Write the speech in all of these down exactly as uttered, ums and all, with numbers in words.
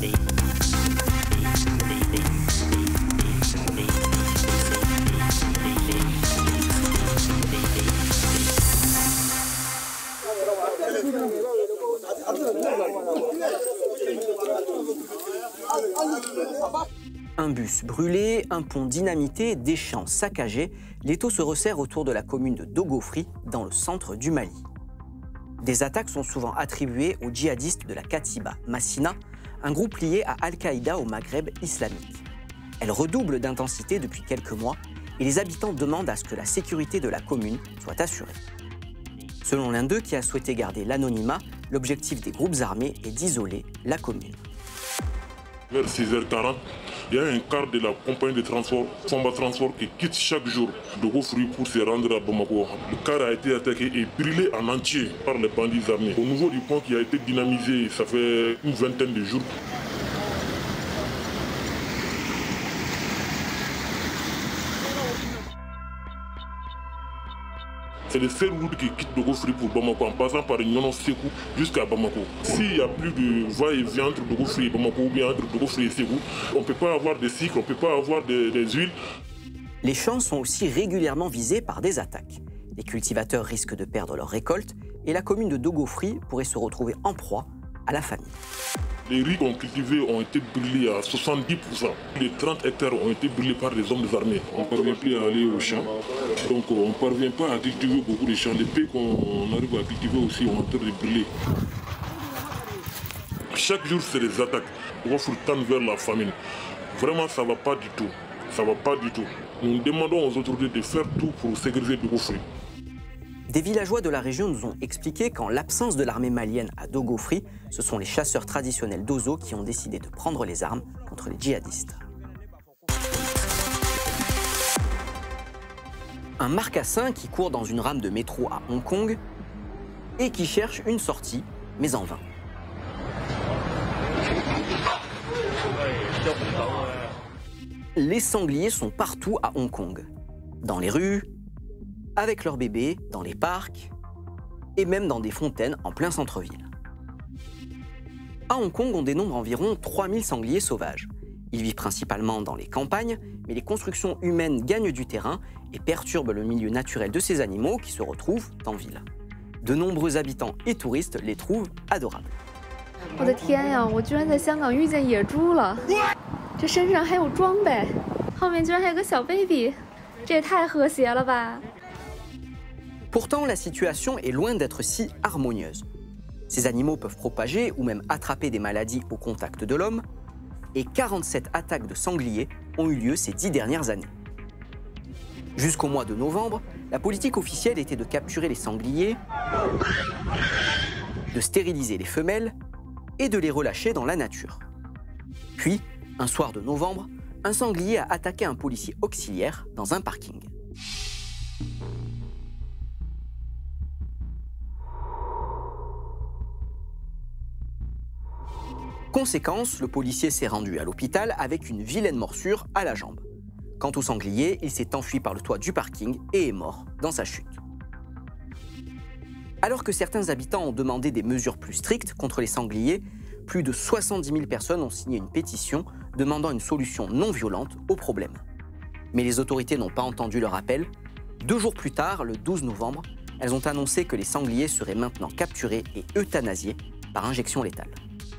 Un bus brûlé, un pont dynamité, des champs saccagés, l'étau se resserre autour de la commune de Dogofri, dans le centre du Mali. Des attaques sont souvent attribuées aux djihadistes de la Katiba Massina, un groupe lié à Al-Qaïda au Maghreb islamique. Elles redoublent d'intensité depuis quelques mois et les habitants demandent à ce que la sécurité de la commune soit assurée. Selon l'un d'eux qui a souhaité garder l'anonymat, l'objectif des groupes armés est d'isoler la commune. Vers six heures quarante, il y a un quart de la compagnie de transport, Samba Transport, qui quitte chaque jour Dogofri pour se rendre à Bamako. Le car a été attaqué et brûlé en entier par les bandits armés. Au niveau du pont qui a été dynamisé, ça fait une vingtaine de jours. C'est le seul route qui quitte Dogofri pour Bamako en passant par Nyono Sekou jusqu'à Bamako. S'il n'y a plus de va-et-vient entre Dogofri et Bamako ou bien entre Dogofri et Sekou, on ne peut pas avoir de cycles, on ne peut pas avoir des, des huiles. Les champs sont aussi régulièrement visés par des attaques. Les cultivateurs risquent de perdre leur récolte et la commune de Dogofri pourrait se retrouver en proie à la famine. Les riz qu'on cultivait ont été brûlés à soixante-dix pour cent. Les trente hectares ont été brûlés par les hommes armés. On ne parvient plus à aller au champ, donc on ne parvient pas à cultiver beaucoup de champs. Les pays qu'on arrive à cultiver aussi ont en train de brûler. Chaque jour, c'est des attaques. On se tendre vers la famine. Vraiment, ça ne va pas du tout. Ça ne va pas du tout. Nous demandons aux autorités de faire tout pour sécuriser Dogofri. Des villageois de la région nous ont expliqué qu'en l'absence de l'armée malienne à Dogofri, ce sont les chasseurs traditionnels d'Ozo qui ont décidé de prendre les armes contre les djihadistes. Un marcassin qui court dans une rame de métro à Hong Kong et qui cherche une sortie, mais en vain. Les sangliers sont partout à Hong Kong. Dans les rues, avec leurs bébés, dans les parcs et même dans des fontaines en plein centre-ville. À Hong Kong, on dénombre environ trois mille sangliers sauvages. Ils vivent principalement dans les campagnes, mais les constructions humaines gagnent du terrain et perturbent le milieu naturel de ces animaux qui se retrouvent en ville. De nombreux habitants et touristes les trouvent adorables. 我的天呀，我居然在香港遇见野猪了！这身上还有装备，后面居然还有个小 baby， 这也太和谐了吧！ Pourtant, la situation est loin d'être si harmonieuse. Ces animaux peuvent propager ou même attraper des maladies au contact de l'homme, et quarante-sept attaques de sangliers ont eu lieu ces dix dernières années. Jusqu'au mois de novembre, la politique officielle était de capturer les sangliers, de stériliser les femelles et de les relâcher dans la nature. Puis, un soir de novembre, un sanglier a attaqué un policier auxiliaire dans un parking. Conséquence, le policier s'est rendu à l'hôpital avec une vilaine morsure à la jambe. Quant au sanglier, il s'est enfui par le toit du parking et est mort dans sa chute. Alors que certains habitants ont demandé des mesures plus strictes contre les sangliers, plus de soixante-dix mille personnes ont signé une pétition demandant une solution non violente au problème. Mais les autorités n'ont pas entendu leur appel. Deux jours plus tard, le douze novembre, elles ont annoncé que les sangliers seraient maintenant capturés et euthanasiés par injection létale.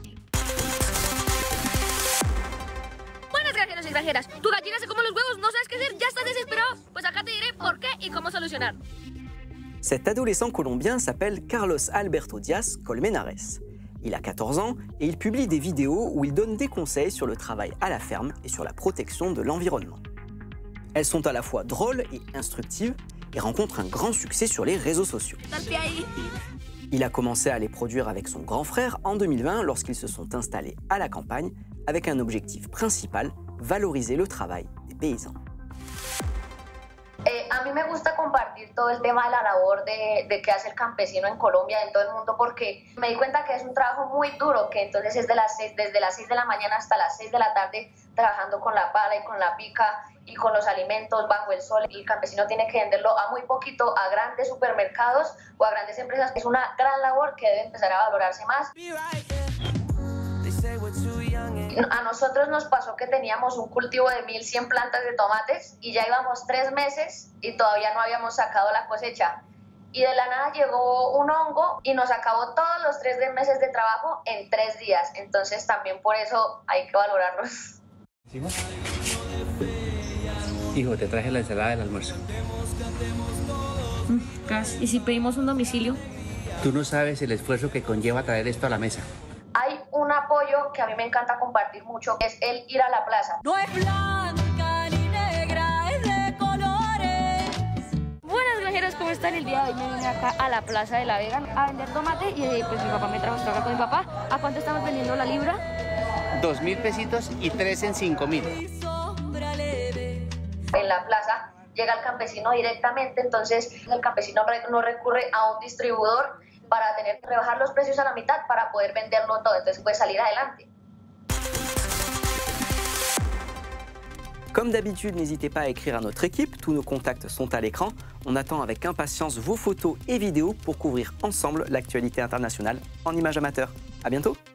Tu gallina se come los huevos, no sabes qué hacer, ya estás desesperado. Pues acá te diré por qué y cómo solucionar. Cet adolescent colombien s'appelle Carlos Alberto Diaz Colmenares. Il a quatorze ans et il publie des vidéos où il donne des conseils sur le travail à la ferme et sur la protection de l'environnement. Elles sont à la fois drôles et instructives et rencontrent un grand succès sur les réseaux sociaux. Il a commencé à les produire avec son grand frère en deux mille vingt lorsqu'ils se sont installés à la campagne avec un objectif principal, valoriser le travail des paysans. Eh, a mí me gusta compartir todo el tema de la labor de, de que hace el campesino en Colombia, en todo el mundo, porque me di cuenta que es un trabajo muy duro, que entonces es de las seis, desde las seis de la mañana hasta las seis de la tarde trabajando con la pala y con la pica y con los alimentos bajo el sol. Y el campesino tiene que venderlo a muy poquito a grandes supermercados o a grandes empresas. Es una gran labor que debe empezar a valorarse más. A nosotros nos pasó que teníamos un cultivo de mil cien plantas de tomates y ya íbamos tres meses y todavía no habíamos sacado la cosecha. Y de la nada llegó un hongo y nos acabó todos los tres meses de trabajo en tres días. Entonces también por eso hay que valorarlos. Hijo, te traje la ensalada del almuerzo. Mm, gas. ¿Y si pedimos un domicilio? Tú no sabes el esfuerzo que conlleva traer esto a la mesa. Hay un apoyo que a mí me encanta compartir mucho, que es el ir a la plaza. No es blanca ni negra, es de colores. Buenas granjeros, ¿cómo están? El día de hoy me vine acá a la Plaza de la Vega a vender tomate y pues mi papá me trajo, estoy acá con mi papá. ¿A cuánto estamos vendiendo la libra? Dos mil pesitos y tres en cinco mil. En la plaza llega el campesino directamente, entonces el campesino no recurre a un distribuidor para tener que rebajar los precios a la mitad para poder venderlo todo, entonces puede salir adelante. Comme d'habitude, n'hésitez pas à écrire à notre équipe, tous nos contacts sont à l'écran. On attend avec impatience vos photos et vidéos pour couvrir ensemble l'actualité internationale en images amateurs. À bientôt!